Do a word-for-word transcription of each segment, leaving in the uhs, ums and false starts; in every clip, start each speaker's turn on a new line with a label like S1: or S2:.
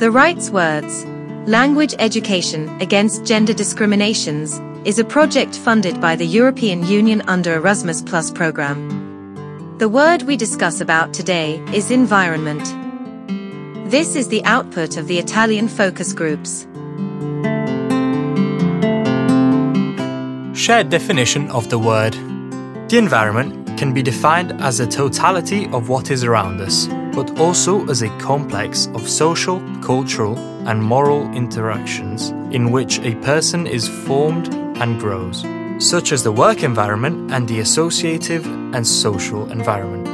S1: The Rights Words, Language Education Against Gender Discriminations, is a project funded by the European Union under Erasmus Plus program. The word we discuss about today is environment. This is the output of the Italian focus groups.
S2: Shared definition of the word. The environment can be defined as a totality of what is around us, but also as a complex of social, cultural, and moral interactions in which a person is formed and grows, such as the work environment and the associative and social environment.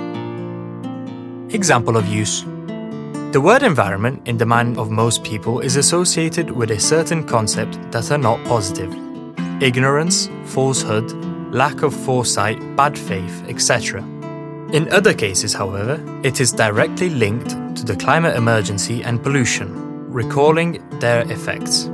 S2: Example of use. The word environment in the mind of most people is associated with a certain concept that are not positive. Ignorance, falsehood, lack of foresight, bad faith, et cetera. In other cases, however, it is directly linked to the climate emergency and pollution, recalling their effects.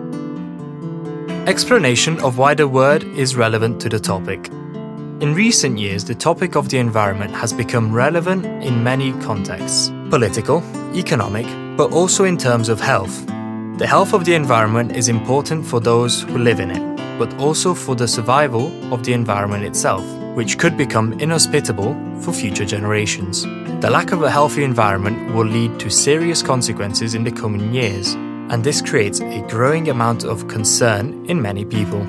S2: Explanation of why the word is relevant to the topic. In recent years, the topic of the environment has become relevant in many contexts: political, economic, but also in terms of health. The health of the environment is important for those who live in it, but also for the survival of the environment itself, which could become inhospitable for future generations. The lack of a healthy environment will lead to serious consequences in the coming years, and this creates a growing amount of concern in many people.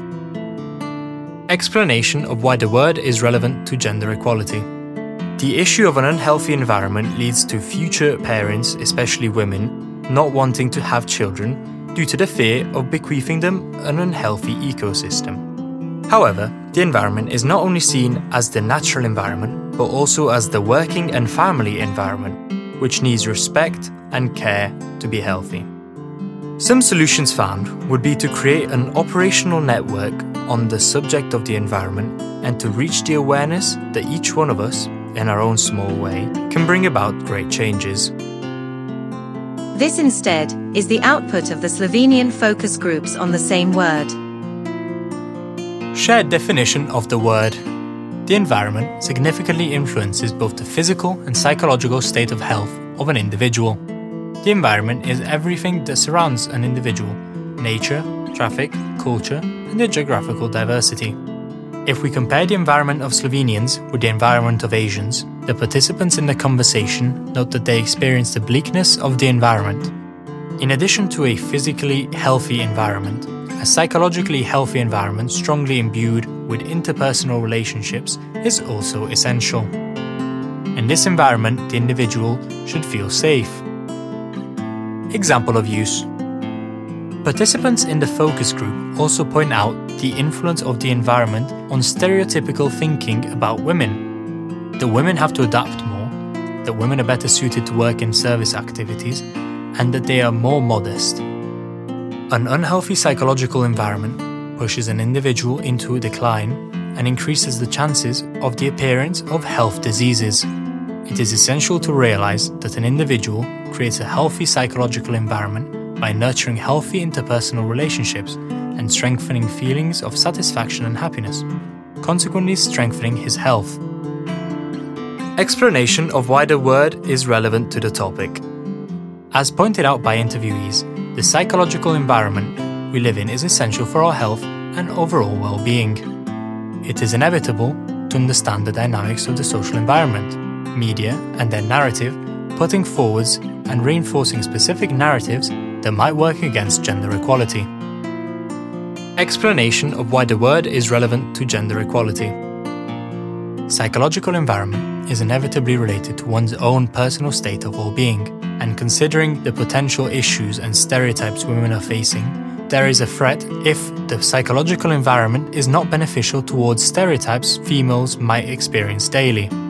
S2: Explanation of why the word is relevant to gender equality. The issue of an unhealthy environment leads to future parents, especially women, not wanting to have children due to the fear of bequeathing them an unhealthy ecosystem. However, the environment is not only seen as the natural environment, but also as the working and family environment, which needs respect and care to be healthy. Some solutions found would be to create an operational network on the subject of the environment and to reach the awareness that each one of us, in our own small way, can bring about great changes.
S1: This instead is the output of the Slovenian focus groups on the same word.
S2: Shared definition of the word. The environment significantly influences both the physical and psychological state of health of an individual. The environment is everything that surrounds an individual: nature, traffic, culture, and the geographical diversity. If we compare the environment of Slovenians with the environment of Asians, the participants in the conversation note that they experience the bleakness of the environment. In addition to a physically healthy environment, a psychologically healthy environment strongly imbued with interpersonal relationships is also essential. In this environment, the individual should feel safe. Example of use. Participants in the focus group also point out the influence of the environment on stereotypical thinking about women. That women have to adapt more, that women are better suited to work in service activities, and that they are more modest. An unhealthy psychological environment pushes an individual into a decline and increases the chances of the appearance of health diseases. It is essential to realize that an individual creates a healthy psychological environment by nurturing healthy interpersonal relationships and strengthening feelings of satisfaction and happiness, consequently strengthening his health. Explanation of why the word is relevant to the topic. As pointed out by interviewees, the psychological environment we live in is essential for our health and overall well-being. It is inevitable to understand the dynamics of the social environment, media and their narrative, putting forwards and reinforcing specific narratives that might work against gender equality. Explanation of why the word is relevant to gender equality. Psychological environment is inevitably related to one's own personal state of well-being, and considering the potential issues and stereotypes women are facing, there is a threat if the psychological environment is not beneficial towards stereotypes females might experience daily.